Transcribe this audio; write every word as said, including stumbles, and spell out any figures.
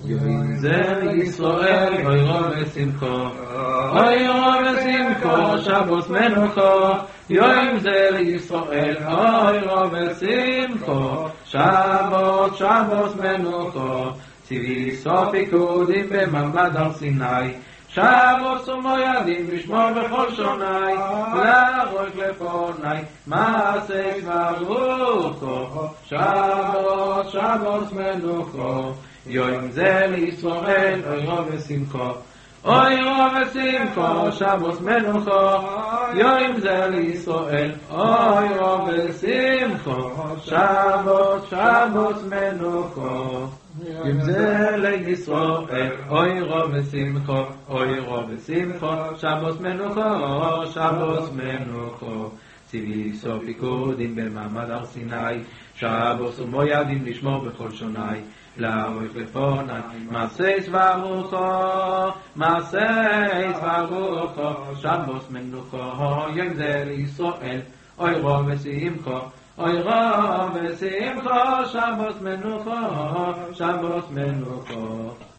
יום זה לישראל, אוי רב ושמחו, אוי רב ושמחו, שבוס מנוחו, יום זה לישראל, אוי רב ושמחו, שבוס, שבוס מנוחו, ציווי סוף פיקודים במעמד הר סיני, שבוס ומוידים לשמור בכל שוני, להרוג לפוני, מעשה ברוכו, שבוס, שבוס מנוחו, יום זה לישראל, אוי רב ושמחו, אוי רב ושמחו, שבוס מנוחו, יום זה לישראל, אוי רב ושמחו, שבוס, שבוס מנוחו, יום זה לישראל, אוי רב ושמחו, אוי רב ושמחו, שבוס מנוחו, שבוס מנוחו, ציווי סוף פיקודים במעמד הר סיני, שבוס ומוידים לשמור בכל שוני, להרוג לפוני, מעשה ברוכו, מעשה ברוכו, שבוס מנוחו, יום זה לישראל, אוי רב ושמחו, אוי רב ושמחו, שבוס מנוחו, שבוס מנוחו.